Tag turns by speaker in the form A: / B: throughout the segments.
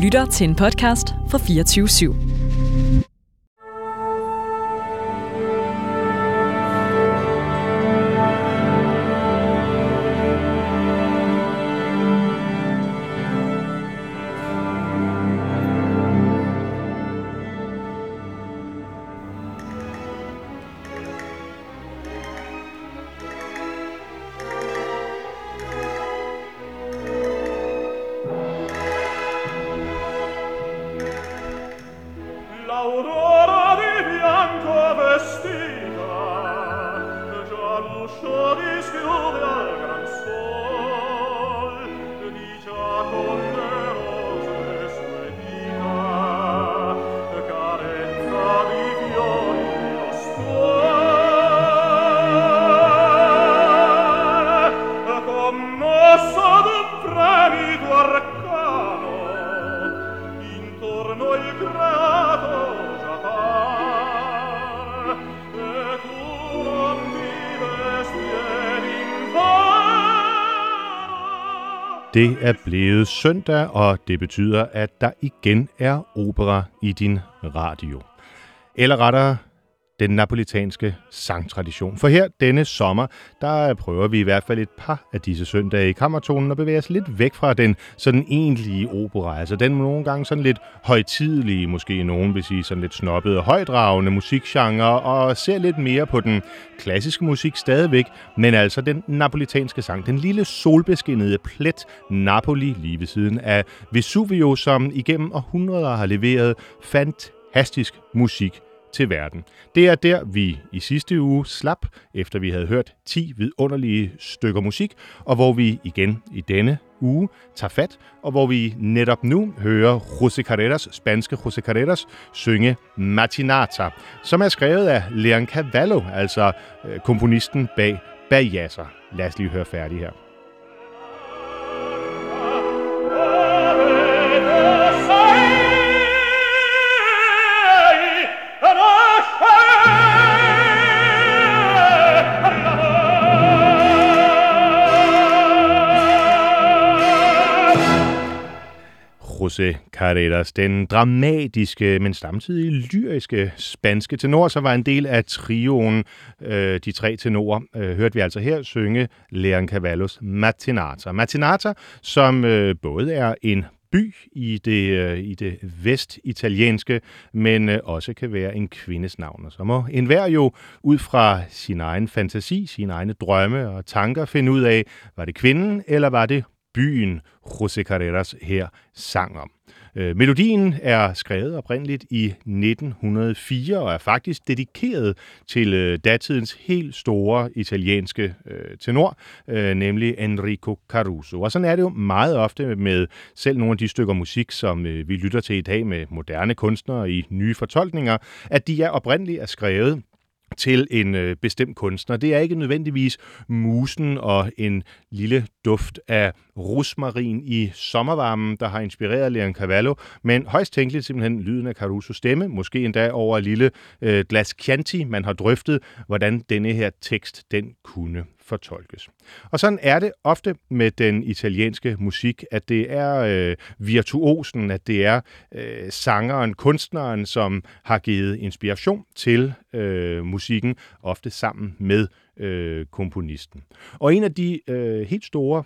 A: lytter til en podcast fra 24/7.
B: L'aurora di bianco vestita, già l'uscio dischiude al gran sol, di già con le rose sue dita, carezza di fiori lo stuol, commosso d'un fremito arcano, intorno il creato già par, e tu non vives bien invano.
C: Det er blevet søndag, og det betyder, at der igen er opera i din radio. Eller rettere, den napolitanske sangtradition. For her denne sommer, der prøver vi i hvert fald et par af disse søndage i kammertonen og bevæger os lidt væk fra den sådan egentlige opera. Altså den nogle gange sådan lidt højtidelige, måske nogen vil sige sådan lidt snobbede, højdragende musikgenre, og ser lidt mere på den klassiske musik stadigvæk, men altså den napolitanske sang. Den lille solbeskinnede plet Napoli lige ved siden af Vesuvio, som igennem århundreder har leveret fantastisk musik til verden. Det er der, vi i sidste uge slap, efter vi havde hørt 10 vidunderlige stykker musik, og hvor vi igen i denne uge tager fat, og hvor vi netop nu hører José Carreras, spanske José Carreras, synge Matinata, som er skrevet af Leoncavallo, altså komponisten bag Bajazzer. Lad os lige høre færdig her. José Carreras, den dramatiske, men samtidig lyriske spanske tenor, som var en del af trioen, de tre tenorer, hørte vi altså her synge Leoncavallos Matinata. Matinata, som både er en by i det vestitalienske, men også kan være en kvindes navn. Og så må enhver jo ud fra sin egen fantasi, sine egne drømme og tanker finde ud af, var det kvinden, eller var det byen, José Carreras her sang om. Melodien er skrevet oprindeligt i 1904 og er faktisk dedikeret til datidens helt store italienske tenor, nemlig Enrico Caruso. Og sådan er det jo meget ofte med selv nogle af de stykker musik, som vi lytter til i dag med moderne kunstnere i nye fortolkninger, at de oprindeligt er skrevet til en bestemt kunstner. Det er ikke nødvendigvis musen og en lille duft af rosmarin i sommervarmen, der har inspireret Leoncavallo, men højst tænkeligt simpelthen lyden af Carusos stemme, måske endda over et lille glas Chianti, man har drøftet, hvordan denne her tekst, den kunne fortolkes. Og sådan er det ofte med den italienske musik, at det er virtuosen, at det er sangeren, kunstneren, som har givet inspiration til musikken, ofte sammen med komponisten. Og en af de helt store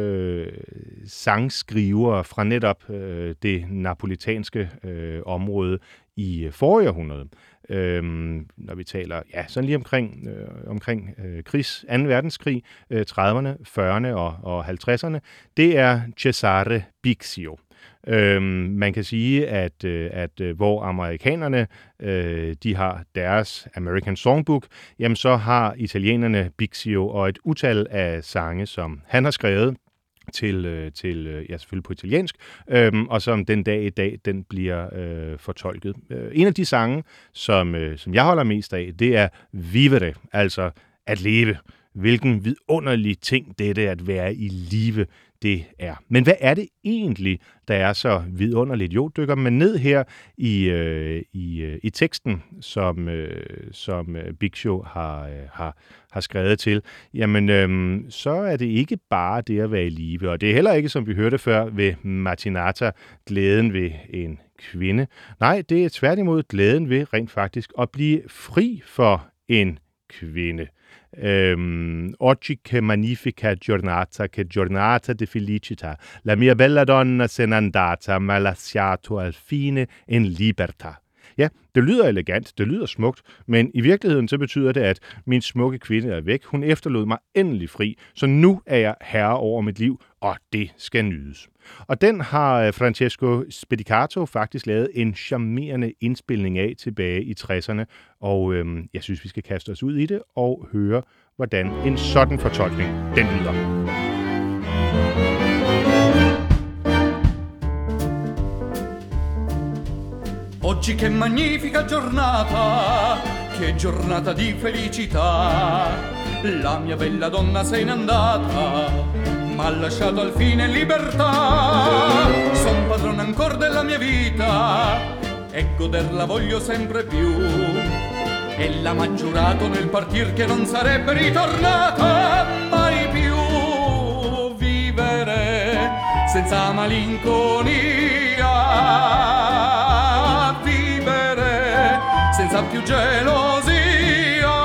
C: sangskrivere fra netop det napolitanske område i forrige århundrede, når vi taler sådan lige omkring 2. verdenskrig, 30'erne, 40'erne og 50'erne, det er Cesare Bixio. Man kan sige, at hvor amerikanerne de har deres American Songbook, jamen så har italienerne Bixio og et utal af sange, som han har skrevet til selvfølgelig på italiensk, og som den dag i dag, den bliver fortolket. En af de sange, som jeg holder mest af, det er Vivere, altså at leve. Hvilken vidunderlig ting dette at være i live, det er. Men hvad er det egentlig, der er så vidunderligt? Jo, dykker man ned her i teksten, som Bixio har skrevet til, jamen så er det ikke bare det at være i live, og det er heller ikke, som vi hørte før ved Martinata, glæden ved en kvinde. Nej, det er tværtimod glæden ved rent faktisk at blive fri for en kvinde. Oggi che magnifica giornata di felicità. La mia bella donna se n'è andata, ma lasciato al fine en libertà. Ja, det lyder elegant, det lyder smukt, men i virkeligheden så betyder det, at min smukke kvinde er væk. Hun efterlod mig endelig fri, så nu er jeg herre over mit liv, og det skal nydes. Og den har Francesco Spedicato faktisk lavet en charmerende indspilning af tilbage i 60'erne, og jeg synes, vi skal kaste os ud i det og høre, hvordan en sådan fortolkning den lyder.
D: Oggi che magnifica giornata di felicità. La mia bella donna se n'è andata, m'ha lasciato al fine libertà. Son padrone ancor della mia vita e goderla voglio sempre più. Ella m'ha giurato nel partir che non sarebbe ritornata mai più. Vivere senza malinconia, senza più gelosia,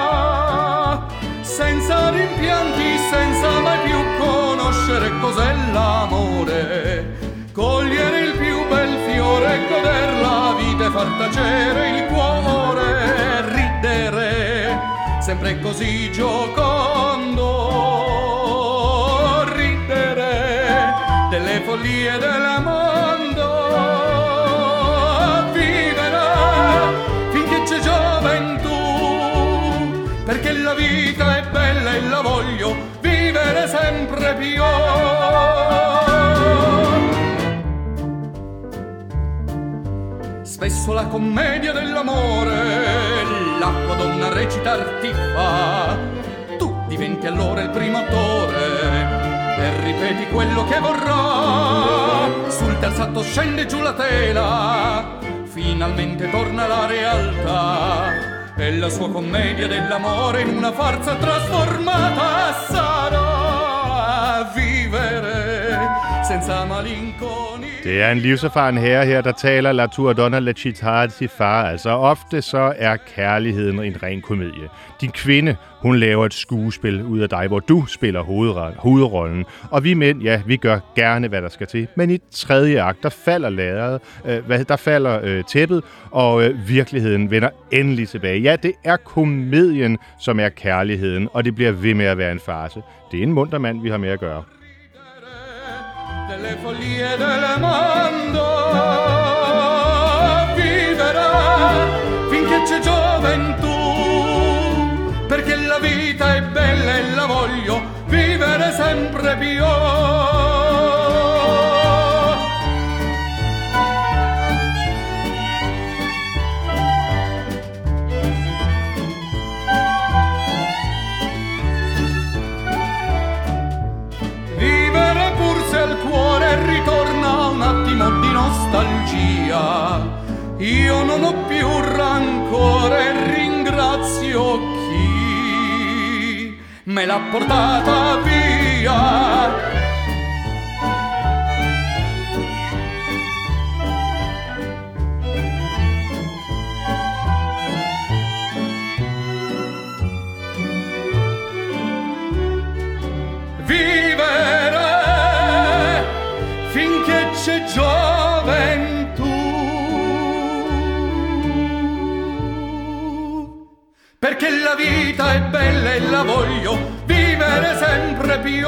D: senza rimpianti, senza mai più conoscere cos'è l'amore, cogliere il più bel fiore, goder la vita e far tacere il cuore, ridere sempre così giocondo, ridere delle follie del mondo. Perché la vita è bella e la voglio vivere sempre più. Spesso la commedia dell'amore l'acqua donna recitar ti fa. Tu diventi allora il primo attore e ripeti quello che vorrà. Sul terzo atto scende giù la tela, finalmente torna la realtà. E la sua commedia dell'amore in una farsa trasformata sarà vivere senza malinconia.
C: Det er en livserfaren herre her, der taler La tua donna la città di far. Altså ofte så er kærligheden en ren komedie. Din kvinde, hun laver et skuespil ud af dig, hvor du spiller hovedrollen. Og vi mænd, ja, vi gør gerne, hvad der skal til. Men i tredje akt, der falder der falder tæppet, og virkeligheden vender endelig tilbage. Ja, det er komedien, som er kærligheden, og det bliver ved med at være en farce. Det er en munter mand, vi har med at gøre.
D: Delle follie del mondo viverà finché c'è gioventù, perché la vita è bella e la voglio vivere sempre più. Ritorna un attimo di nostalgia, io non ho più rancore e ringrazio chi me l'ha portata via. C'è gioventù, perché la vita è bella e la voglio vivere sempre più.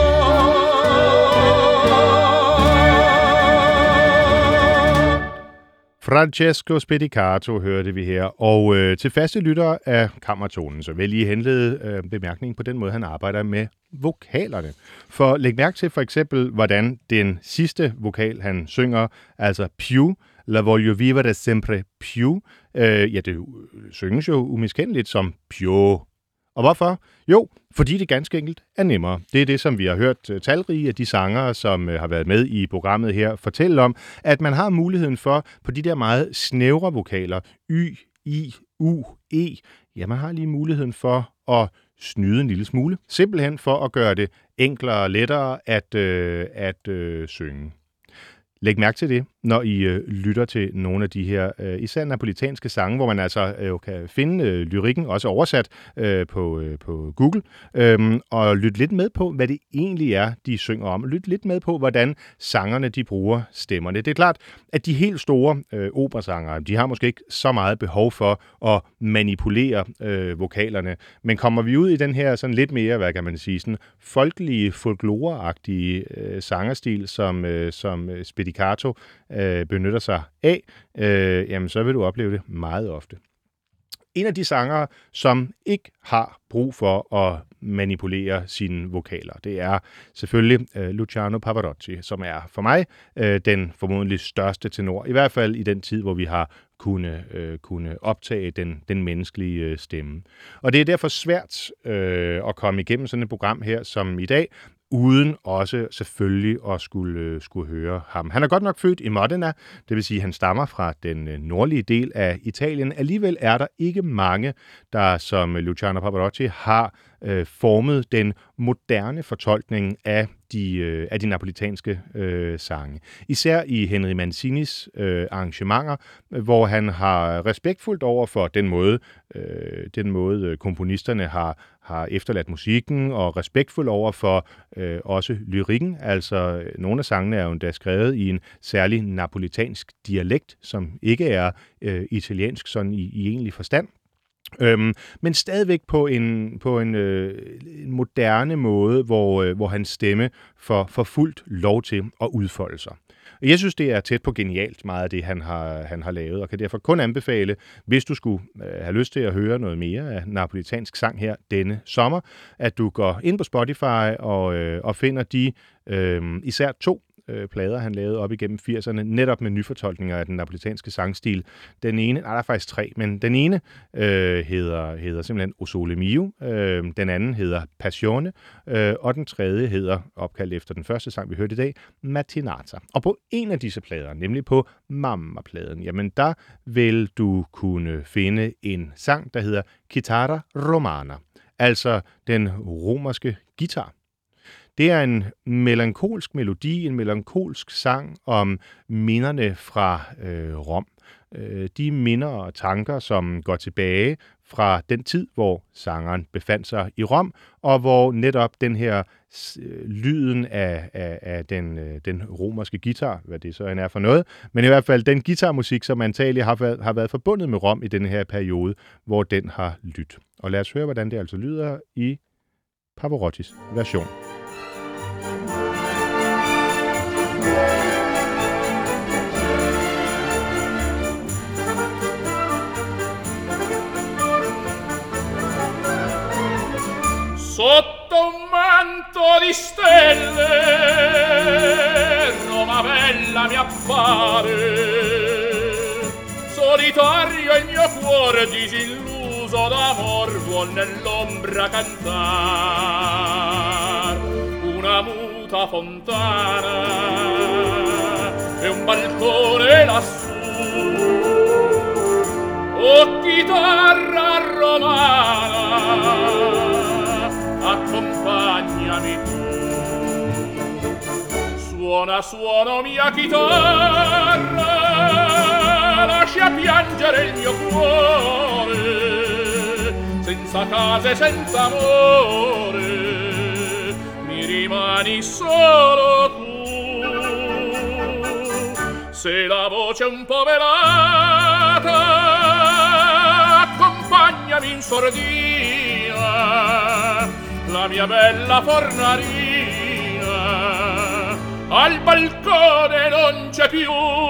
C: Francesco Spedicato hørte vi her, og til faste lyttere af Kammertonen, så vil jeg lige henlede bemærkningen på den måde, han arbejder med vokalerne. For læg mærke til for eksempel, hvordan den sidste vokal, han synger, altså più, la voglio vivere sempre più, ja, det synges jo umiskendeligt som più, Og hvorfor? Jo, fordi det ganske enkelt er nemmere. Det er det, som vi har hørt talrige af de sangere, som har været med i programmet her, fortælle om, at man har muligheden for på de der meget snævre vokaler, Y, I, U, E, ja, man har lige muligheden for at snyde en lille smule, simpelthen for at gøre det enklere og lettere at synge. Læg mærke til det, når I lytter til nogle af de her, især napolitanske sange, hvor man altså kan finde lyrikken, også oversat på Google, og lytte lidt med på, hvad det egentlig er, de synger om. Lytte lidt med på, hvordan sangerne de bruger stemmerne. Det er klart, at de helt store operasangere, de har måske ikke så meget behov for at manipulere vokalerne, men kommer vi ud i den her sådan lidt mere, hvad kan man sige, sådan folkelige, folkloreagtige sangerstil, som Spedicato benytter sig af, jamen så vil du opleve det meget ofte. En af de sangere, som ikke har brug for at manipulere sine vokaler, det er selvfølgelig Luciano Pavarotti, som er for mig den formodentlig største tenor, i hvert fald i den tid, hvor vi har kunne optage den menneskelige stemme. Og det er derfor svært at komme igennem sådan et program her som i dag, uden også selvfølgelig at skulle høre ham. Han er godt nok født i Modena, det vil sige, at han stammer fra den nordlige del af Italien. Alligevel er der ikke mange, der som Luciano Pavarotti har formet den moderne fortolkning af de napolitanske sange. Især i Henry Mancinis arrangementer, hvor han har respektfuldt over for den måde komponisterne har efterladt musikken, og respektfuld over for også lyrikken. Altså, nogle af sangene er jo endda skrevet i en særlig napolitansk dialekt, som ikke er italiensk sådan i egentlig forstand. Men stadigvæk på en moderne måde, hvor hans stemme får fuldt lov til at udfolde sig. Jeg synes, det er tæt på genialt meget af det, han har lavet, og kan derfor kun anbefale, hvis du skulle have lyst til at høre noget mere af napolitansk sang her denne sommer, at du går ind på Spotify og finder de især 2 plader, han lavede op igennem 80'erne, netop med nyfortolkninger af den napolitanske sangstil. Den ene, der er faktisk 3, men den ene hedder simpelthen O Sole Mio, den anden hedder Passione, og den tredje hedder, opkaldt efter den første sang, vi hørte i dag, Mattinata. Og på en af disse plader, nemlig på Mamma-pladen, jamen der vil du kunne finde en sang, der hedder Chitarra Romana, altså den romerske guitar. Det er en melankolsk melodi, en melankolsk sang om minderne fra Rom. De minder og tanker, som går tilbage fra den tid, hvor sangeren befandt sig i Rom, og hvor netop den her lyden af den romerske guitar, hvad det så end er for noget, men i hvert fald den guitarmusik, som antageligt har været forbundet med Rom i den her periode, hvor den har lyttet. Og lad os høre, hvordan det altså lyder i Pavarottis version.
B: Sotto un manto di stelle Roma bella mi appare, solitario il mio cuore disilluso d'amor vuol nell'ombra cantar. Una muta fontana e un balcone lassù, oh chitarra romana, accompagnami tu. Suona, suona mia chitarra, lascia piangere il mio cuore, senza casa e senza amore, mi rimani solo tu. Se la voce un po' velata, accompagnami in sordina, la mia bella fornarina al balcone non c'è più.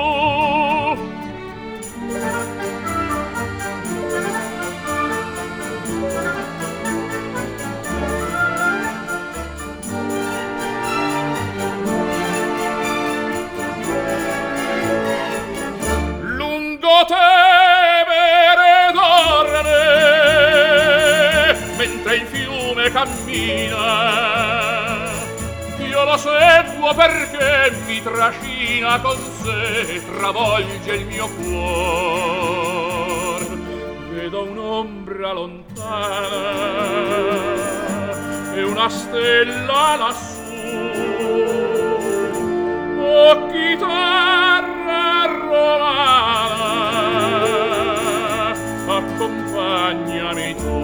B: Lungo Tevere dorme mentre il cammina, io lo seguo perché mi trascina con sé, travolge il mio cuor. Vedo un'ombra lontana e una stella lassù, oh chitarra romana, accompagnami tu.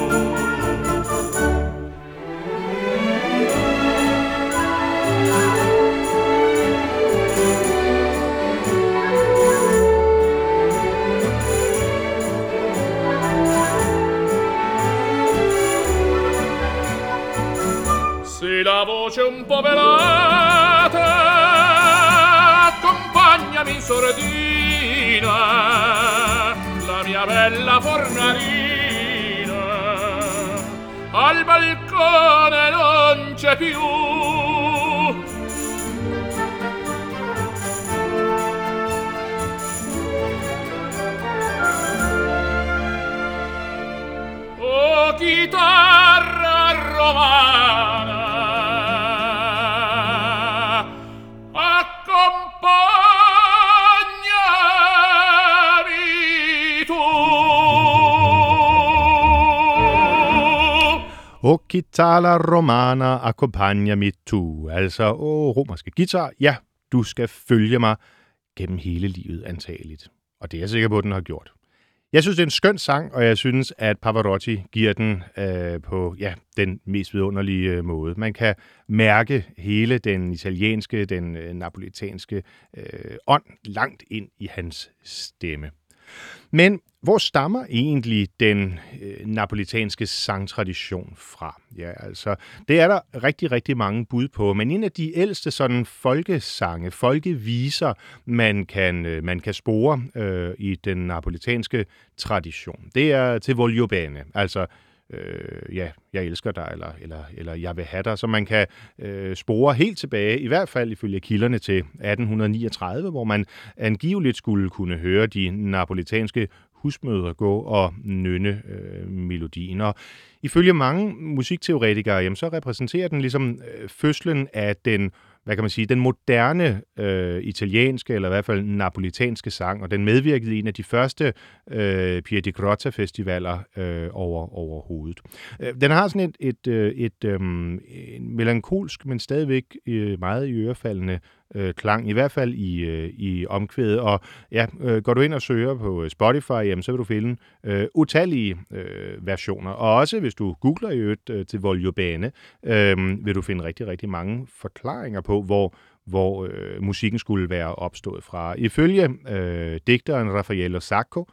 B: Se la voce un po' velata, accompagnami in sordina, la mia bella fornarina, al balcone non c'è più. Oh chitarra romana,
C: O chitarra romana, accompagnami tu. Altså, romerske guitar, ja, du skal følge mig gennem hele livet antageligt. Og det er jeg sikker på, at den har gjort. Jeg synes, det er en skøn sang, og jeg synes, at Pavarotti giver den på den mest vidunderlige måde. Man kan mærke hele den italienske, den napolitanske ånd langt ind i hans stemme. Men hvor stammer egentlig den napolitanske sangtradition fra? Ja, altså, det er der rigtig, rigtig mange bud på, men en af de ældste sådan folkesange, folkeviser, man kan spore i den napolitanske tradition, det er Ti voglio bene, altså jeg elsker dig, eller jeg vil have dig, så man kan spore helt tilbage, i hvert fald ifølge kilderne til 1839, hvor man angiveligt skulle kunne høre de napolitanske husmødre gå og nynne melodien. Og ifølge mange musikteoretikere, jamen, så repræsenterer den ligesom fødslen af den, hvad kan man sige, den moderne italienske, eller i hvert fald napolitanske sang, og den medvirkede i en af de første Piedi Grotta-festivaler overhovedet. Den har sådan en melankolsk, men stadigvæk meget iørefaldende klang, i hvert fald i omkvædet. Og ja, går du ind og søger på Spotify, jamen, så vil du finde utallige versioner. Og også hvis du googler i øvrigt til Voglio Bene, vil du finde rigtig, rigtig mange forklaringer på, hvor musikken skulle være opstået fra. Ifølge digteren Raffaello Sacco,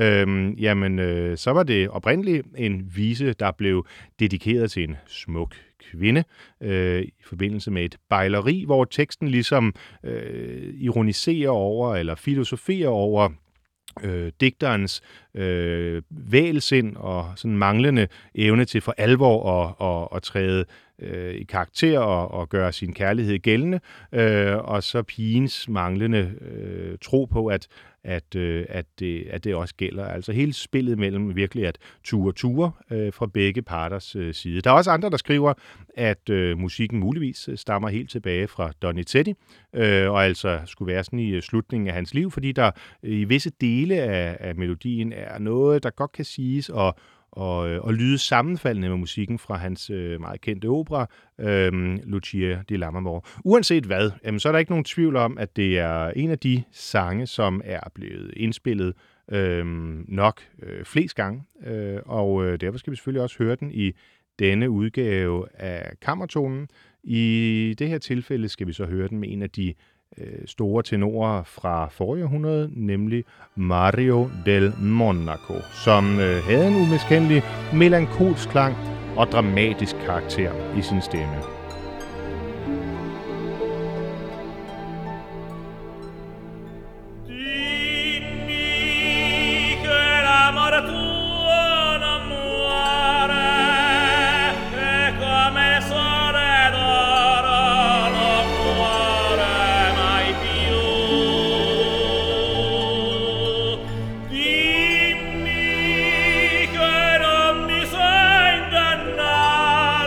C: så var det oprindeligt en vise, der blev dedikeret til en smuk kvinde i forbindelse med et bejleri, hvor teksten ligesom ironiserer over eller filosoferer over digterens vægelsind og sådan manglende evne til for alvor at træde i karakter og gøre sin kærlighed gældende, og så pigens manglende tro på, at det også gælder. Altså hele spillet mellem virkelig at ture fra begge parters side. Der er også andre, der skriver, at musikken muligvis stammer helt tilbage fra Donizetti, og altså skulle være sådan i slutningen af hans liv, fordi der i visse dele af melodien er noget, der godt kan siges og lyde sammenfaldende med musikken fra hans meget kendte opera, Lucia di Lammermoor. Uanset hvad, så er der ikke nogen tvivl om, at det er en af de sange, som er blevet indspillet nok flest gange, og derfor skal vi selvfølgelig også høre den i denne udgave af Kammertonen. I det her tilfælde skal vi så høre den med en af de store tenorer fra forrige århundrede, nemlig Mario del Monaco, som havde en umiskendelig melankolsk klang og dramatisk karakter i sin stemme.
B: Dimmi che non mi sai ingannare.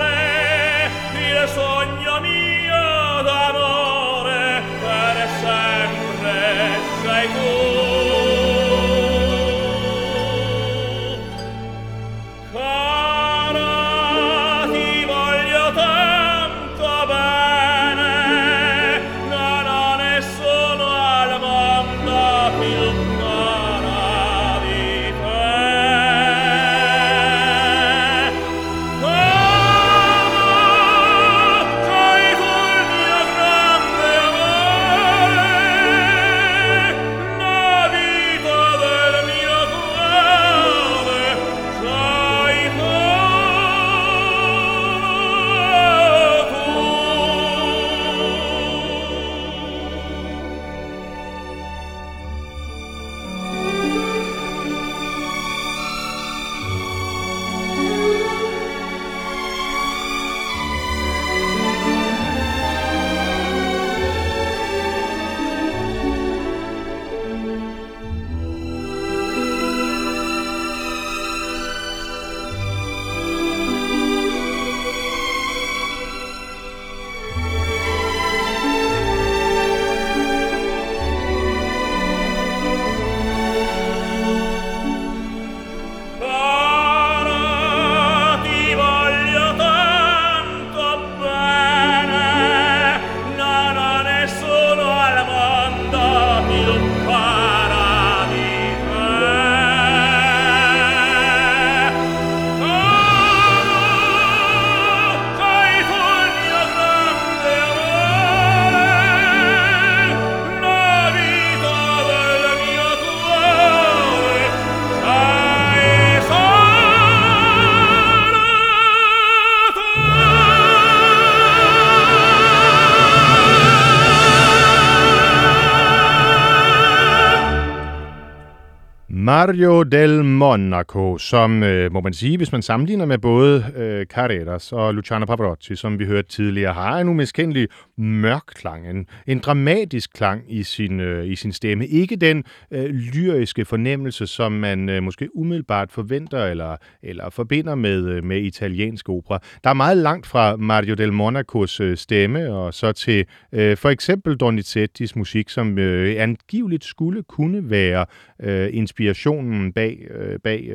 C: Mario del Monaco, som må man sige, hvis man sammenligner med både Carreras og Luciano Pavarotti, som vi hørte tidligere, har en umiskendelig mørk klang, en dramatisk klang i sin stemme. Ikke den lyriske fornemmelse, som man måske umiddelbart forventer eller forbinder med italiensk opera. Der er meget langt fra Mario del Monacos stemme og så til for eksempel Donizettis musik, som angiveligt skulle kunne være inspirationen bag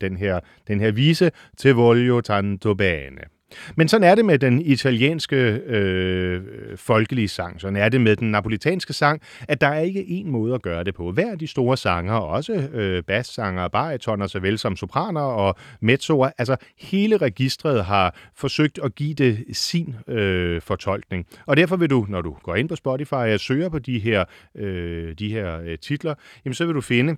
C: den her vise Te voglio tanto bene. Men sådan er det med den italienske folkelige sang, sådan er det med den napolitanske sang, at der er ikke én måde at gøre det på. Hver af de store sanger, også bassanger, baritoner, såvel som sopraner og mezzoer, altså hele registret har forsøgt at give det sin fortolkning. Og derfor vil du, når du går ind på Spotify og søger på de her titler, jamen så vil du finde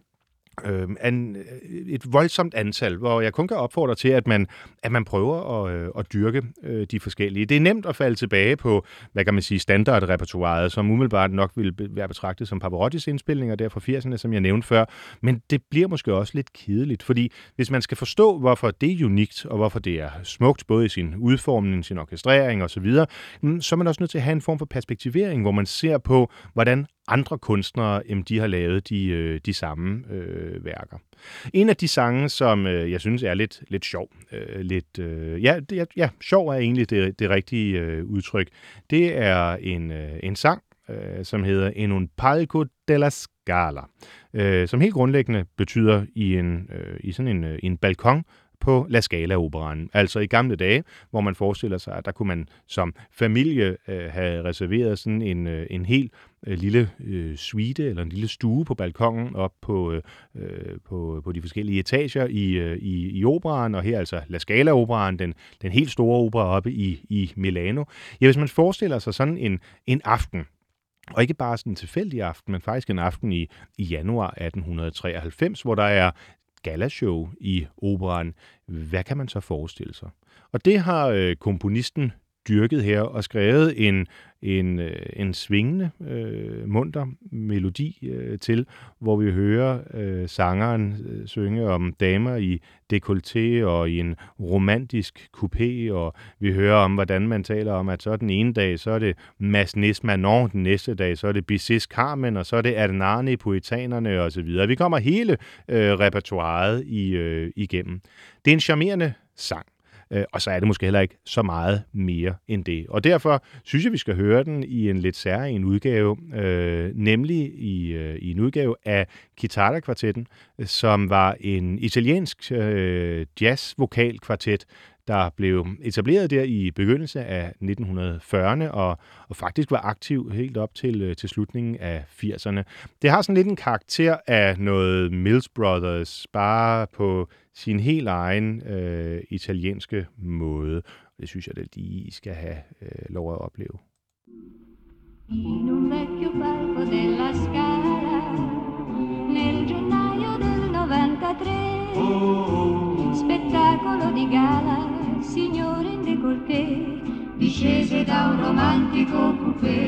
C: et voldsomt antal, hvor jeg kun kan opfordre til, at man prøver at dyrke de forskellige. Det er nemt at falde tilbage på, hvad kan man sige, standardrepertoiret, som umiddelbart nok vil være betragtet som Pavarottis indspilninger der fra 80'erne, som jeg nævnte før, men det bliver måske også lidt kedeligt, fordi hvis man skal forstå, hvorfor det er unikt, og hvorfor det er smukt, både i sin udformning, sin orkestrering osv., så er man også nødt til at have en form for perspektivering, hvor man ser på, hvordan andre kunstnere, de har lavet de samme værker. En af de sange, som jeg synes er lidt sjov, sjov er egentlig det rigtige udtryk, det er en sang, som hedder En un palco della Scala, som helt grundlæggende betyder i sådan en balkon på La Scala-operaen. Altså i gamle dage, hvor man forestiller sig, at der kunne man som familie have reserveret sådan en helt lille suite eller en lille stue på balkongen op på de forskellige etager i operaen, og her altså La Scala-operaen, den helt store opera oppe i Milano. Ja, hvis man forestiller sig sådan en aften, og ikke bare sådan en tilfældig aften, men faktisk en aften i januar 1893, hvor der er galashow i operaen. Hvad kan man så forestille sig? Og det har komponisten dyrket her og skrevet en svingende, munter melodi til, hvor vi hører sangeren synge om damer i décolleté og i en romantisk coupé, og vi hører om, hvordan man taler om, at så den ene dag, så er det Massenet Manon, den næste dag, så er det Bizets Carmen, og så er det Ernani, Poetanerne osv. Vi kommer hele repertoiret igennem. Det er en charmerende sang. og så er det måske heller ikke så meget mere end det. Og derfor synes jeg, vi skal høre den i en lidt særlig udgave, nemlig i en udgave af Chitarra-kvartetten, som var en italiensk jazz-vokalkvartet, der blev etableret der i begyndelsen af 1940'erne og faktisk var aktiv helt op til slutningen af 80'erne. Det har sådan lidt en karakter af noget Mills Brothers, bare på sin helt egen italienske måde. Det synes jeg, det lige skal have lov at opleve.
E: In un vecchio palco della Scala nel gennaio del 93 spettacolo di gala, signore in décolleté discese da un romantico coupé.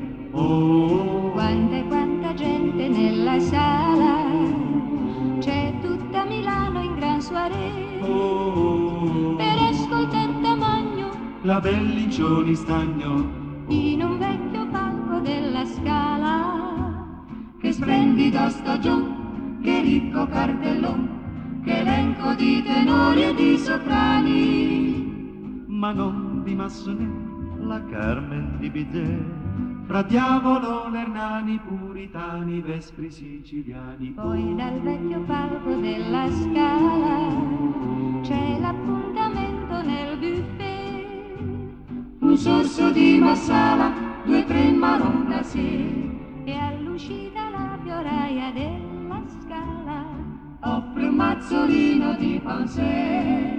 E: Quanta gente nella sala, c'è tutta Milano in gran soirée per ascoltar Tamagno,
F: la Belliccioni Stagno
E: in un vecchio palco della Scala. Che splendido stagione, che ricco cartellone, che elenco di tenori e di soprani.
F: Manon di Massonet, la Carmen di Bizet, fra Diavolo, Lernani, Puritani, Vespri siciliani.
E: Poi dal vecchio palco della Scala c'è l'appuntamento nel buffet.
D: Un sorso di Marsala, 2 o 3 marron glacé,
E: e all'uscita la fioraia della Scala
D: offre un mazzolino di pansè.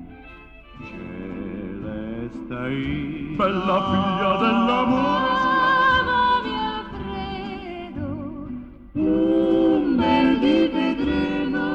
F: Celeste, bella figlia dell'amore,
E: amami Alfredo,
D: un bel di vedremo.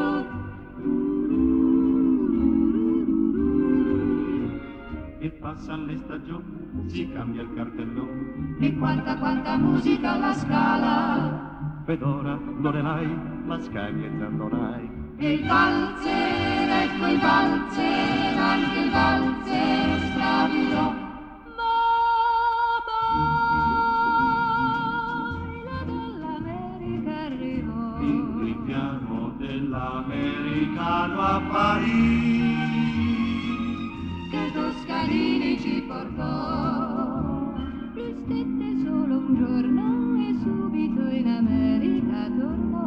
F: e passan le stagioni, si cambia il cartellone,
D: E quanta musica alla Scala,
F: Fedora, Lorelai, Mascagni e Zandonai.
D: e il valzer, ecco il valzer, anche il valzer stradirò.
E: ma poi la dell'America arrivò.
F: Il richiamo dell'americano a Parigi,
D: Che Toscanini ci portò.
E: Lui stette solo un giorno e subito in America tornò.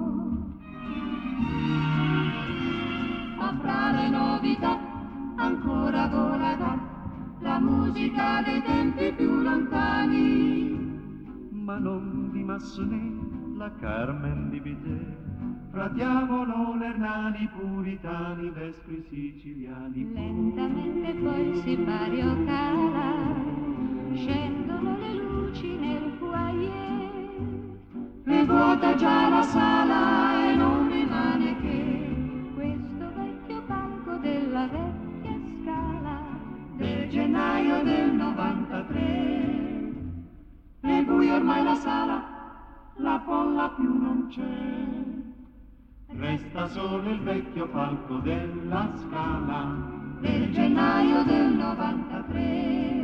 D: Ma fra le novità ancora vola la musica dei tempi più lontani.
F: Manon di Massonet, la Carmen di Bizet, fra Diavolo, Lernani, Puritani, Vespri siciliani.
E: Lentamente poi si Mario cala, scendono le luci nel foyer.
D: E vuota già la sala e non rimane che
E: Questo vecchio palco della vecchia Scala,
D: del gennaio del 93. È buio ormai la sala, la folla più non c'è.
F: Resta solo il vecchio palco della Scala,
D: Del gennaio del 93.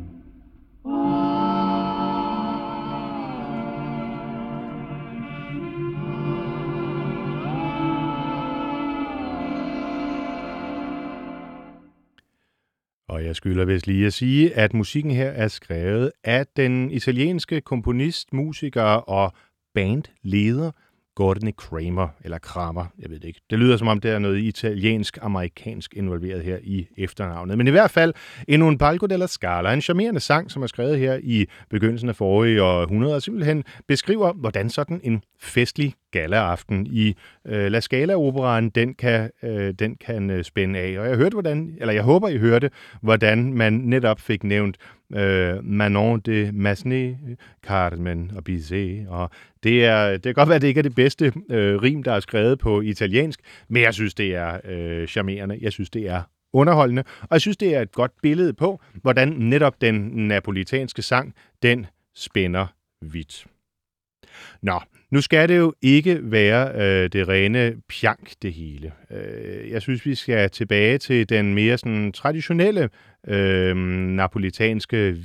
C: Og jeg skylder vist lige at sige, at musikken her er skrevet af den italienske komponist, musiker og bandleder Gordon Kramer, eller Kramer, jeg ved det ikke. Det lyder som om, der er noget italiensk-amerikansk involveret her i efternavnet. Men i hvert fald, In un palco della Scala, en charmerende sang, som er skrevet her i begyndelsen af forrige århundrede, og simpelthen beskriver, hvordan sådan en festlig galaaften i La Scala-operaen, den kan spænde af. Og jeg håber, I hørte, hvordan man netop fik nævnt Manon de Massenet, Carmen og Bizet, og det kan godt være, at det ikke er det bedste rim, der er skrevet på italiensk, men jeg synes, det er charmerende, jeg synes, det er underholdende, og jeg synes, det er et godt billede på, hvordan netop den napolitanske sang, den spænder vidt. Nå, nu skal det jo ikke være det rene pjank, det hele. Jeg synes, vi skal tilbage til den mere sådan traditionelle napolitanske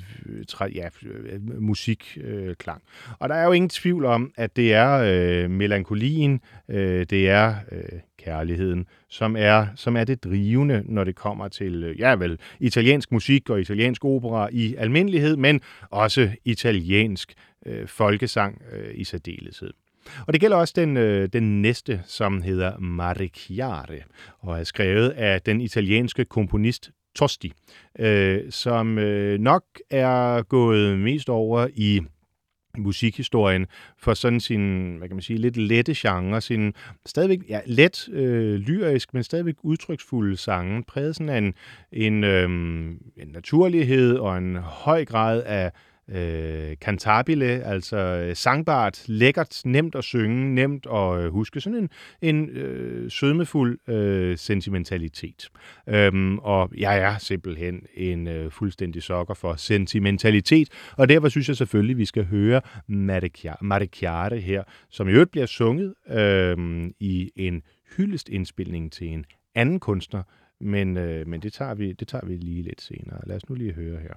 C: musikklang. Og der er jo ingen tvivl om, at det er melankolien, det er kærligheden, som er det drivende, når det kommer til italiensk musik og italiensk opera i almindelighed, men også italiensk folkesang i særdeleshed. Og det gælder også den næste, som hedder Mare Chiare, og er skrevet af den italienske komponist Tosti, som nok er gået mest over i musikhistorien for sådan sin, hvad kan man sige, lidt lette genre, sin stadigvæk let lyrisk, men stadigvæk udtryksfulde sange, præget sådan af en naturlighed og en høj grad af cantabile, altså sangbart, lækkert, nemt at synge, nemt at huske, sådan en sødmefuld sentimentalitet. Og jeg er simpelthen en fuldstændig sokker for sentimentalitet, og derfor synes jeg selvfølgelig, vi skal høre Mare Chiare her, som i øvrigt bliver sunget i en hyldestindspilning til en anden kunstner, men det tager vi lige lidt senere. Lad os nu lige høre her.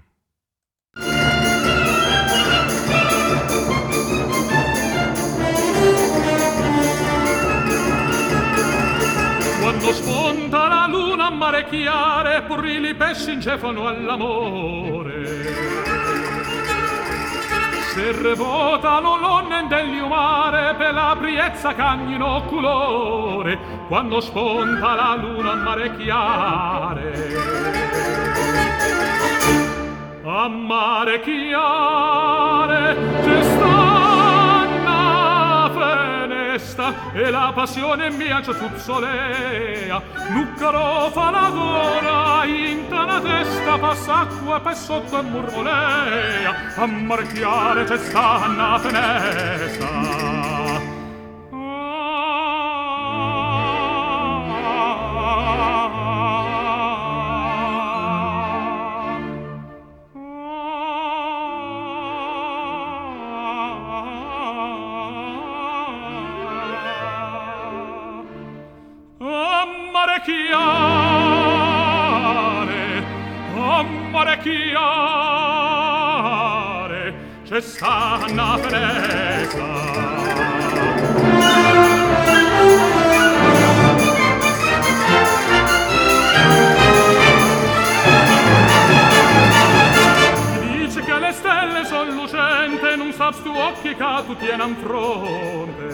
G: Quando spunta la luna a mare chiare, purili pesci incefano all'amore. Se revotano l'onne degli umare, per la priezza cagnino colore, quando spunta la luna a mare chiare. A mare chiare c'è sta una fenesta e la passione mia c'è tuzzolea, nuccaro fa la gola, inta la testa, passa acqua per sotto e murmolea. A mare chiare c'è sta una fenesta. Mare chiare, c'è sta una fenesta. Dice che le stelle son lucente, non saps tu occhi che tu tienan fronte.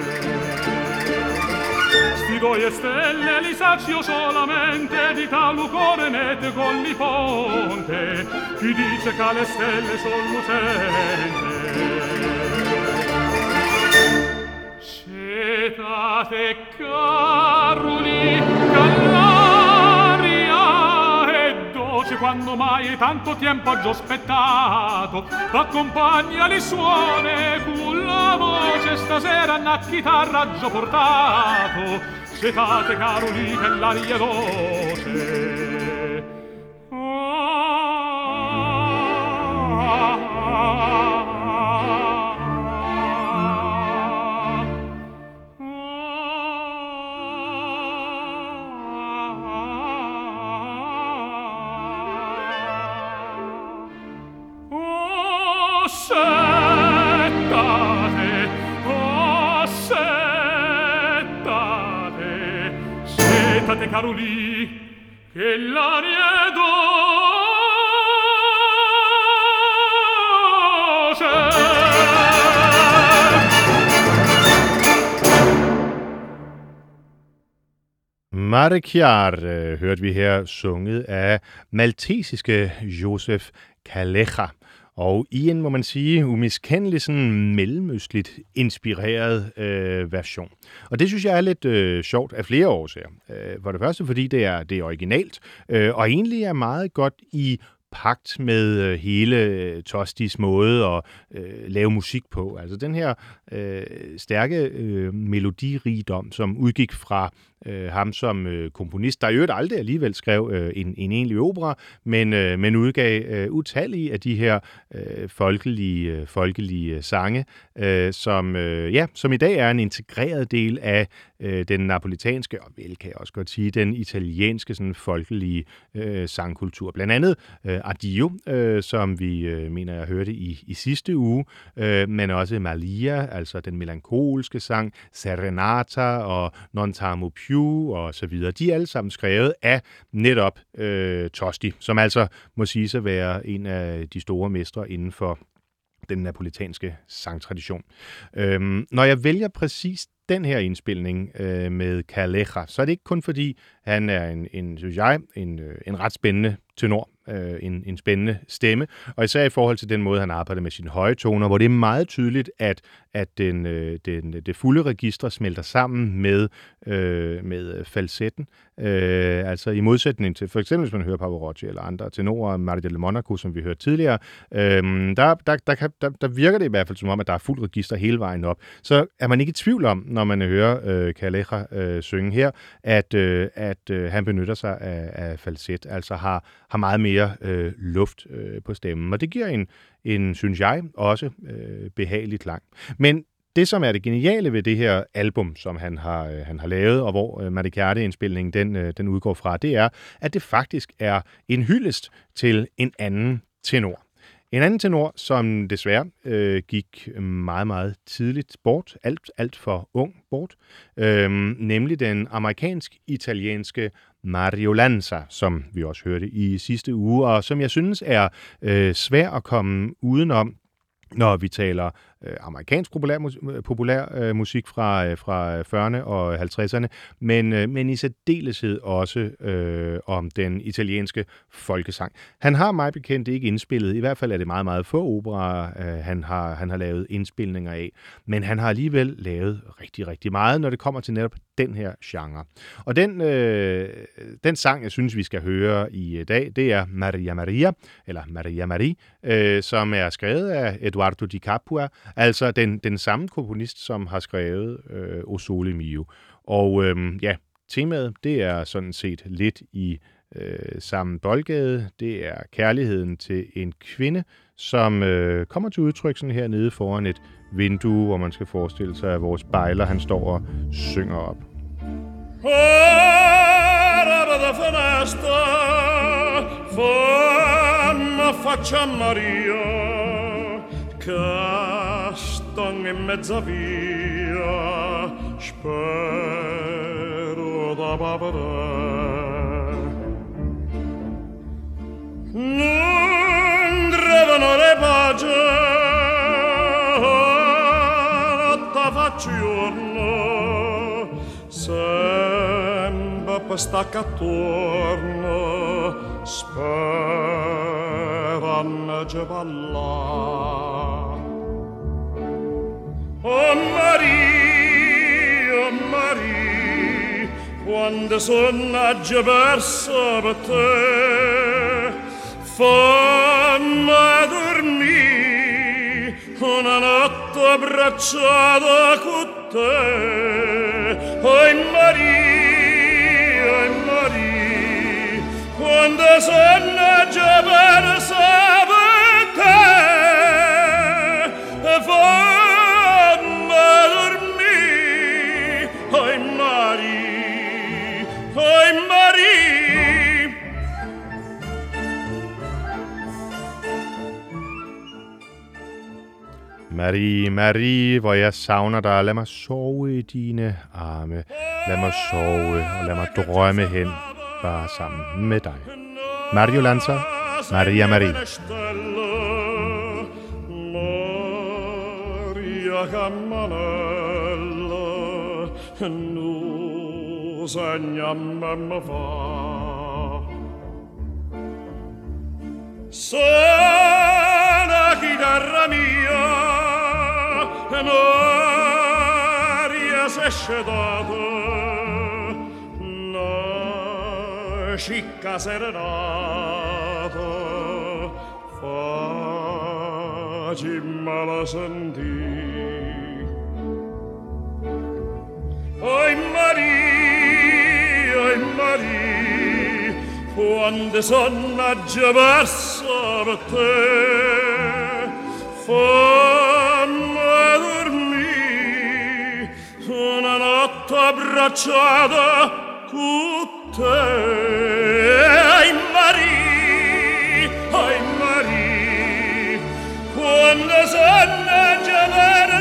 G: Sti due stelle li saccio solamente di tal cuore nete con li ponte. Chi dice che le stelle son lucente? Cetate caruli, callaria e dolce quando mai tanto tempo ho aspettato. T'accompagna li suone con la voce stasera una chitarra già portato. Cetate caroli che l'aria dolce. Settate caroli che l'aria è dolce.
C: Mare Chiare hørte vi her sunget af maltesiske Joseph Calleja. Og i en, må man sige, umiskendelig sådan mellemøstligt inspireret version. Og det synes jeg er lidt sjovt af flere årsager. For det første, fordi det er originalt, og egentlig er meget godt i pagt med hele Tostis måde at lave musik på. Altså den her stærke melodirigdom, som udgik fra ham som komponist, der i øvrigt aldrig alligevel skrev en egentlig opera, men udgav utallige af de her folkelige sange, som i dag er en integreret del af den napolitanske, og vel kan jeg også godt sige, den italienske sådan folkelige sangkultur. Blandt andet Addio, som vi mener jeg hørte i sidste uge, men også Malia, altså den melankolske sang, Serenata og Non t'amo più og så videre. De er alle sammen skrevet af netop Tosti, som altså må sige sig være en af de store mestre inden for den napolitanske sangtradition. Når jeg vælger præcis den her indspilning med Calleja, så er det ikke kun fordi, han er synes jeg, en ret spændende tenor, en spændende stemme, og især i forhold til den måde, han arbejder med sine høje toner, hvor det er meget tydeligt, at det fulde register smelter sammen med falsetten. Altså i modsætning til, for eksempel hvis man hører Pavarotti eller andre tenorer, Maria del Monaco, som vi hørte tidligere, der virker det i hvert fald som om, at der er fuld register hele vejen op. Så er man ikke i tvivl om, når man hører Calleja synge her, at han benytter sig af falset, altså har meget mere luft på stemmen. Og det giver en synes jeg, også behagelig klang. Men det, som er det geniale ved det her album, som han har lavet, og hvor Madricarte-indspilningen den udgår fra, det er, at det faktisk er en hyldest til en anden tenor. En anden tenor, som desværre gik meget, meget tidligt bort, alt for ung bort, nemlig den amerikansk-italienske Mario Lanza, som vi også hørte i sidste uge, og som jeg synes er svær at komme udenom, når vi taler amerikansk populær musik fra 40'erne og 50'erne, men i særdeleshed også om den italienske folkesang. Han har mig bekendt ikke indspillet, i hvert fald er det meget, meget få operaer, han har lavet indspilninger af, men han har alligevel lavet rigtig, rigtig meget, når det kommer til netop den her genre. Og den sang, jeg synes, vi skal høre i dag, det er Maria Maria, eller Maria Marie, som er skrevet af Eduardo Di Capua, altså den samme komponist, som har skrevet O Sole Mio. Og temaet, det er sådan set lidt i samme boldgade. Det er kærligheden til en kvinde, som kommer til udtryk sådan her nede foran et vindue, hvor man skal forestille sig, at vores bejler, han står og synger op.
G: Castan in mezza via, spero da bavare. Non drevano le pace, notte fa giorno, sempre stacca attorno, speranno già ballare. Oh Maria, quando sono già persa per te, fammi dormire una notte abbracciata con te. Oh Maria, quando sono già persa per te,
C: Marie, Marie, hvor jeg savner dig. Lad mig sove i dine arme. Lad mig sove og lad mig drømme hen bare sammen med dig. Mario Lanza, Maria Marie.
G: Maria Cammanella, nu segniamo va. Suona chitarra mia, Maria s'è scedata, una scicca serenata, facimmela sentire. Oi Maria, quando sono già persa per te, fammi dormire una notte
B: abbracciata con te. Ai Marie, quando sanno gelare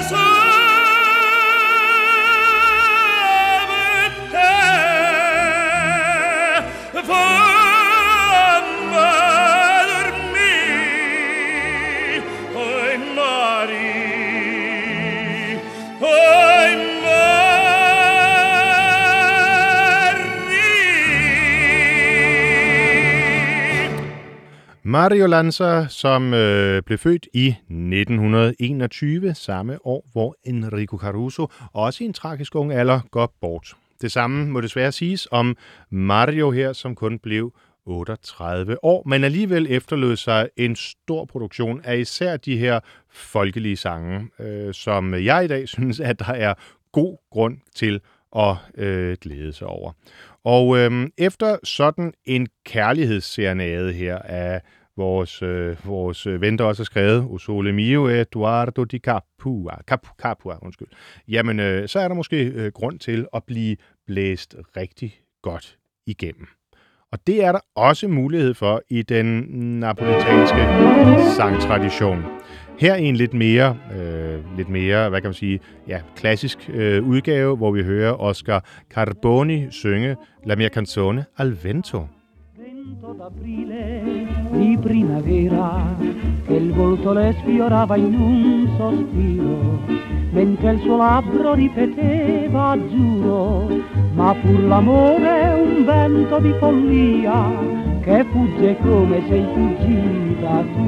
C: Mario Lanza, som blev født i 1921, samme år, hvor Enrico Caruso, også i en tragisk ung alder, går bort. Det samme må desværre siges om Mario her, som kun blev 38 år, men alligevel efterlod sig en stor produktion af især de her folkelige sange, som jeg i dag synes, at der er god grund til at glæde sig over. Og efter sådan en kærlighedsserenade her af vores ven, der også har skrevet O Sole Mio, Eduardo di Capua, jamen så er der måske grund til at blive blæst rigtig godt igennem. Og det er der også mulighed for i den napolitanske sangtradition. Her i en lidt mere, hvad kan man sige, ja, klassisk udgave, hvor vi hører Oscar Carboni synge La mia canzone al vento.
H: Vento d'aprile di primavera che il volto le sfiorava in un sospiro mentre il suo labbro ripeteva giuro ma pur l'amore un vento di follia che fugge come sei fuggita tu.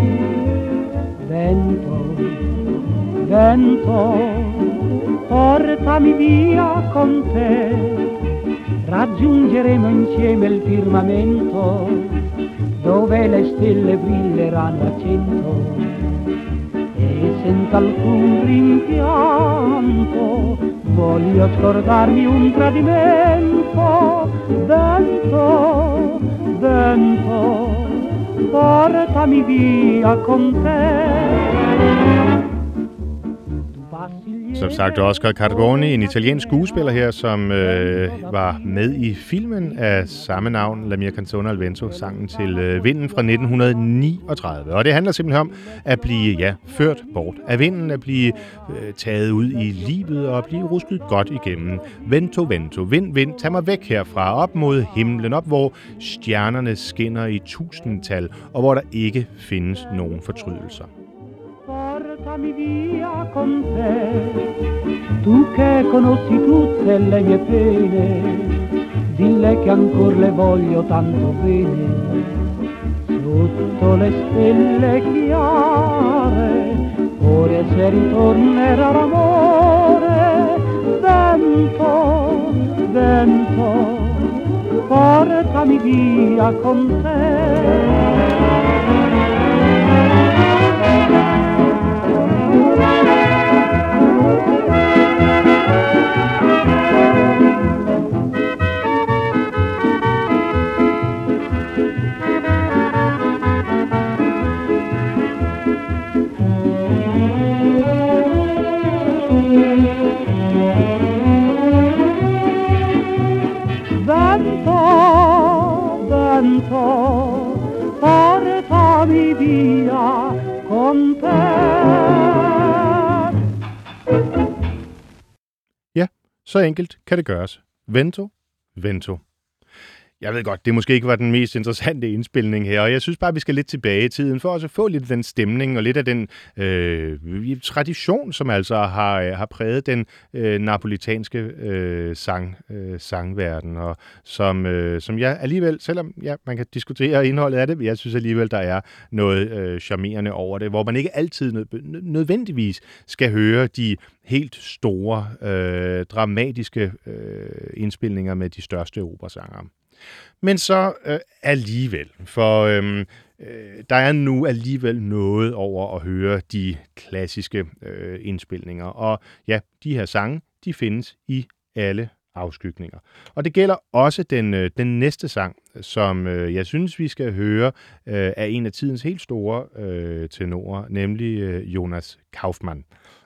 H: Vento, vento, portami via con te, raggiungeremo insieme il firmamento dove le stelle brilleranno a cento e senza alcun rimpianto voglio scordarmi un tradimento. Vento, vento, portami via con te.
C: Som sagt, Oscar Carboni, en italiensk skuespiller her, som var med i filmen af samme navn, La mia canzone al vento, sangen til vinden fra 1939. Og det handler simpelthen om at blive ført bort af vinden, at blive taget ud i livet og at blive rusket godt igennem. Vento, vento, vind, vind, tag mig væk herfra, op mod himlen, op hvor stjernerne skinner i tusindtal, og hvor der ikke findes nogen fortrydelser.
H: Portami via con te, tu che conosci tutte le mie pene, dille che ancor le voglio tanto bene, sotto le stelle chiare, ora se ritornerà l'amore. Vento, vento, portami via con te. Vento, vento, portami via con te.
C: Ja, så enkelt kan det gøres. Vento, vento. Jeg ved godt, det måske ikke var den mest interessante indspilning her, og jeg synes bare, at vi skal lidt tilbage i tiden, for også at få lidt af den stemning og lidt af den tradition, som altså har præget den napolitanske sangverden, og som jeg alligevel, selvom man kan diskutere indholdet af det, jeg synes alligevel, der er noget charmerende over det, hvor man ikke altid nødvendigvis skal høre de helt store, dramatiske indspilninger med de største operasangere. Men så alligevel, for der er nu alligevel noget over at høre de klassiske indspilninger. Og ja, de her sange, de findes i alle afskygninger. Og det gælder også den næste sang, som jeg synes, vi skal høre af en af tidens helt store tenorer, nemlig Jonas Kaufmann.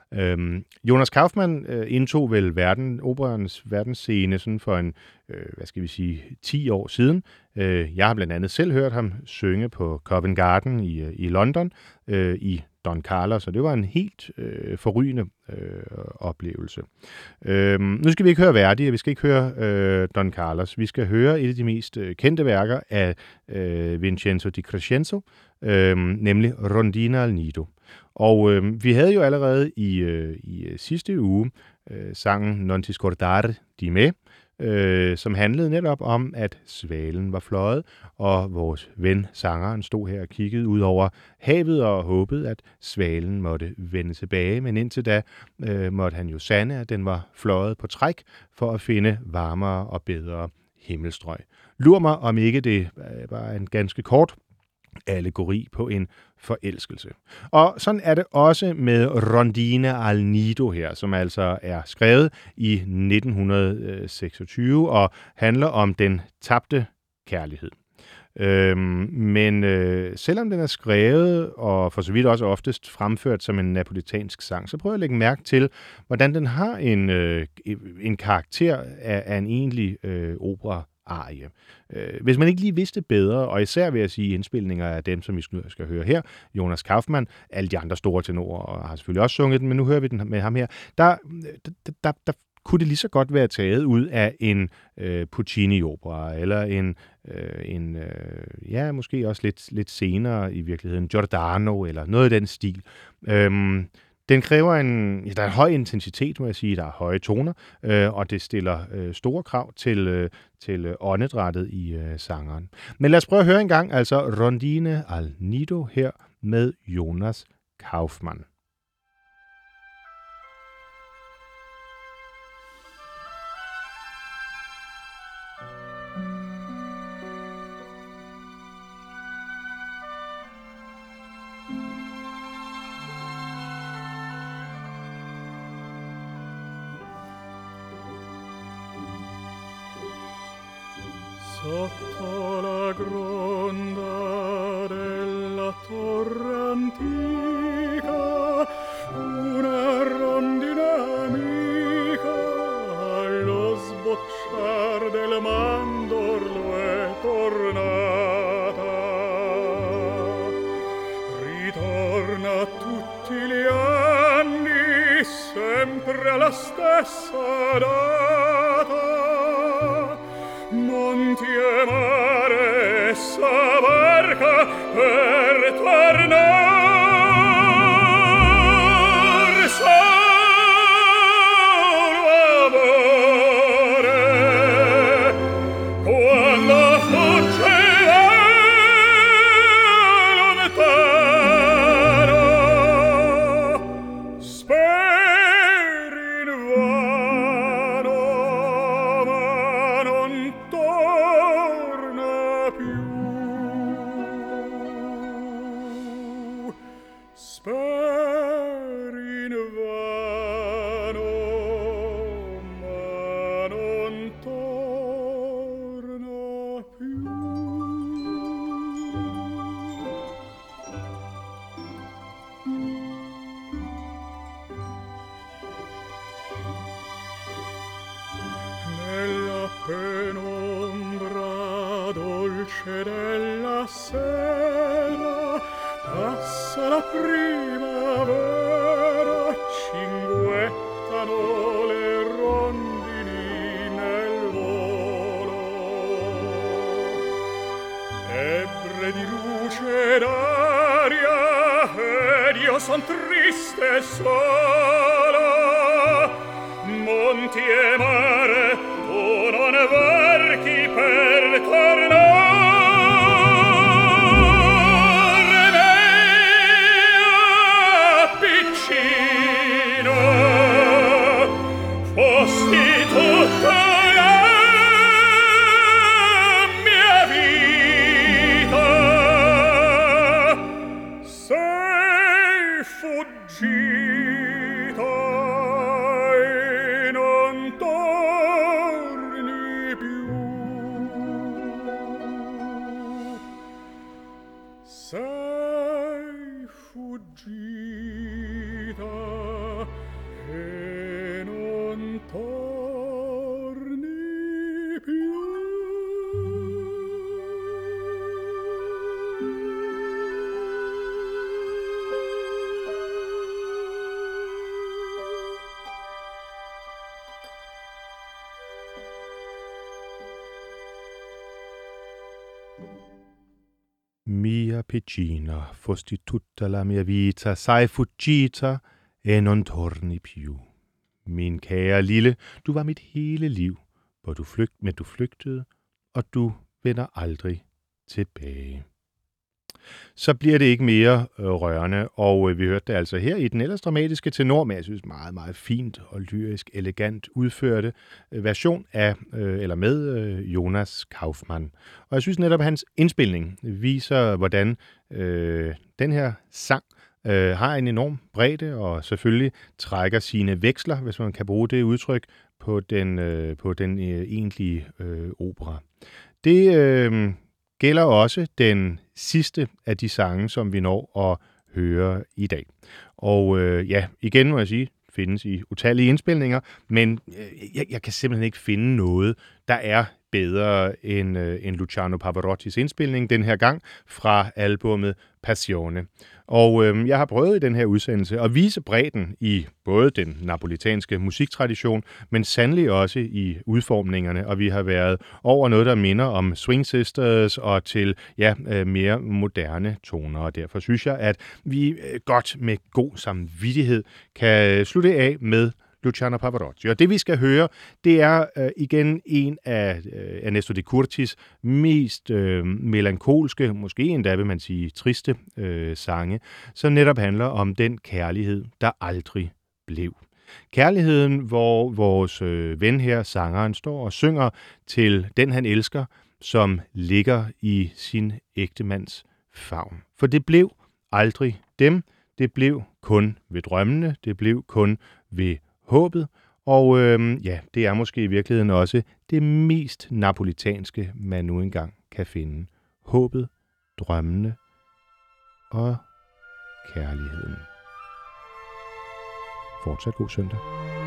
C: Jonas Kaufmann indtog vel operans verdensscene sådan for en, 10 år siden. Jeg har blandt andet selv hørt ham synge på Covent Garden i London i Don Carlos, og det var en helt forrygende oplevelse. Nu skal vi ikke høre Verdi, og vi skal ikke høre Don Carlos. Vi skal høre et af de mest kendte værker af Vincenzo di Crescenzo, nemlig Rondina al Nido. Og vi havde jo allerede i sidste uge sangen Non ti scordare di me, som handlede netop om, at svalen var fløjet, og vores ven, sangeren, stod her og kiggede ud over havet og håbede, at svalen måtte vende tilbage. Men indtil da måtte han jo sande, at den var fløjet på træk for at finde varmere og bedre himmelstrøg. Lur mig, om ikke det var en ganske kort allegori på en forelskelse. Og sådan er det også med Rondina al Nido her, som altså er skrevet i 1926 og handler om den tabte kærlighed. Men selvom den er skrevet, og for så vidt også oftest fremført som en napolitansk sang, så prøver jeg at lægge mærke til, hvordan den har en karakter af en egentlig opera-arie. Hvis man ikke lige vidste bedre, og især vil jeg sige indspilninger af dem, som vi skal høre her, Jonas Kaufmann, alle de andre store tenorer, og har selvfølgelig også sunget den, men nu hører vi den med ham her, der kunne det lige så godt være taget ud af en Puccini-opera, eller måske også lidt senere i virkeligheden, Giordano, eller noget i den stil. Den kræver der er en høj intensitet, må jeg sige, der er høje toner, og det stiller store krav til åndedrættet i sangeren. Men lad os prøve at høre en gang, altså Rondine al Nido her med Jonas Kaufmann.
G: Sotto la gronda della torre antica una rondina amica allo sbocciar del mandorlo è tornata. Ritorna tutti gli anni sempre alla stessa data. Monti e mare essa barca per tornar solo amore quando fugge lontano speri invano ma non torna più. Speri invano ma non torna più. Nella penombra dolce della sera passa la primavera, cinguettano le rondini nel volo. Ebbre di luce d'aria ed io son triste e solo. Monti e mare tu non varchi per tornare me piccino fosti tutta la mia vita. Sei fuggito
C: Mia piccina, fosti tutta la mia vita, sei fuggita e non torni più. Min kære lille, du var mit hele liv, hvor du flygtede, og du vender aldrig tilbage. Så bliver det ikke mere rørende, og vi hørte det altså her i den ellers dramatiske tenor, men jeg synes meget, meget fint og lyrisk, elegant udførte version af, eller med Jonas Kaufmann. Og jeg synes netop, at hans indspilning viser, hvordan den her sang har en enorm bredde, og selvfølgelig trækker sine veksler, hvis man kan bruge det udtryk, på den egentlige opera. Det gælder også den sidste af de sange, som vi når at høre i dag. Og igen må jeg sige, findes i utallige indspilninger, men jeg kan simpelthen ikke finde noget, der er bedre end Luciano Pavarottis indspilning, den her gang fra albumet Passione. Og jeg har prøvet i den her udsendelse at vise bredden i både den napolitanske musiktradition, men sandelig også i udformningerne, og vi har været over noget, der minder om Swing Sisters og til mere moderne toner, og derfor synes jeg, at vi godt med god samvittighed kan slutte af med Luciano Pavarotti. Og det vi skal høre, det er igen en af Ernesto de Curtis mest melankolske, måske endda vil man sige triste sange, som netop handler om den kærlighed, der aldrig blev. Kærligheden, hvor vores ven her, sangeren, står og synger til den han elsker, som ligger i sin ægtemands favn. For det blev aldrig dem, det blev kun ved drømmene, det blev kun ved håbet, og det er måske i virkeligheden også det mest napolitanske, man nu engang kan finde. Håbet, drømmene og kærligheden. Fortsat god søndag.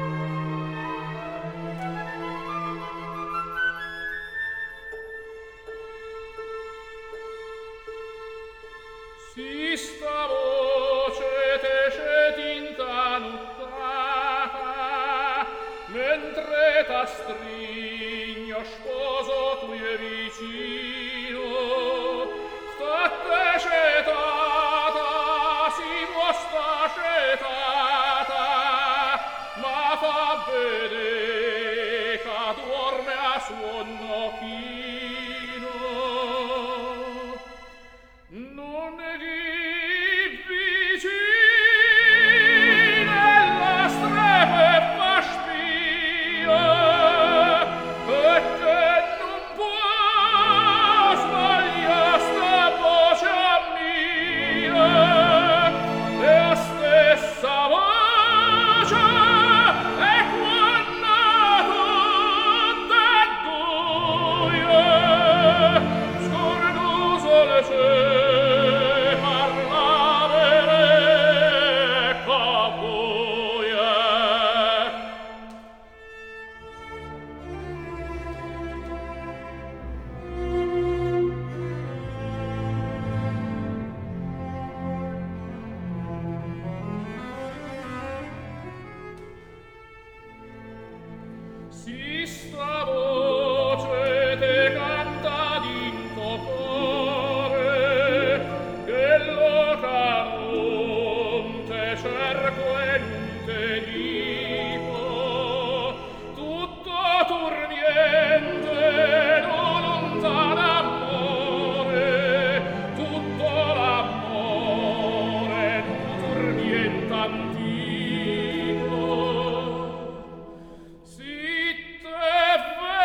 B: Sista voce tece tinta nuttata, mentre t'astringo sposo tu e vicino, state cetata, si vostra cetata, ma fa vedere che dorme a sonno chino. Non Sitte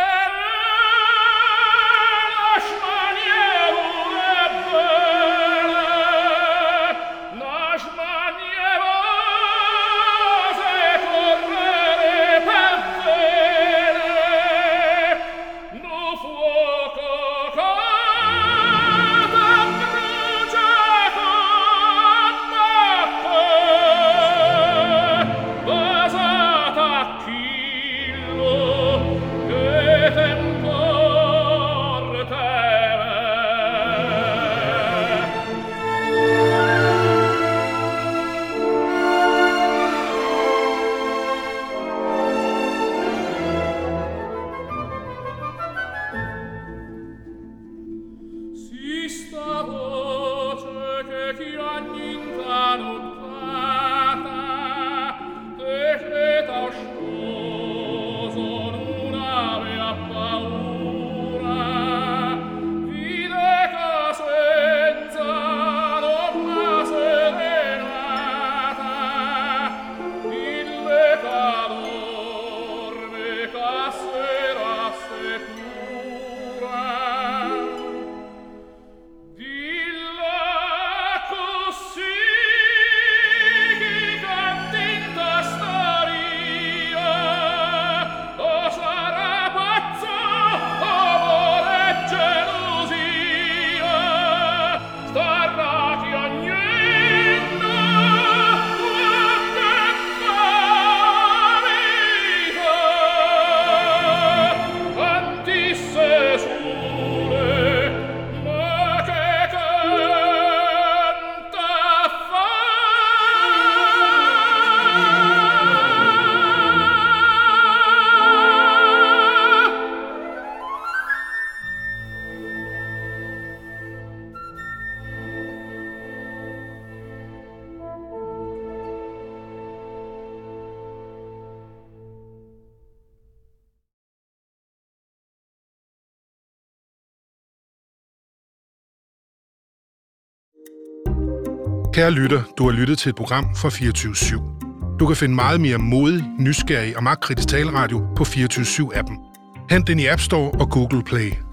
I: Kære lytter, du har lyttet til et program fra 24/7. Du kan finde meget mere modig, nysgerrig og magtkritisk taleradio på 24/7-appen. Hent den i App Store og Google Play.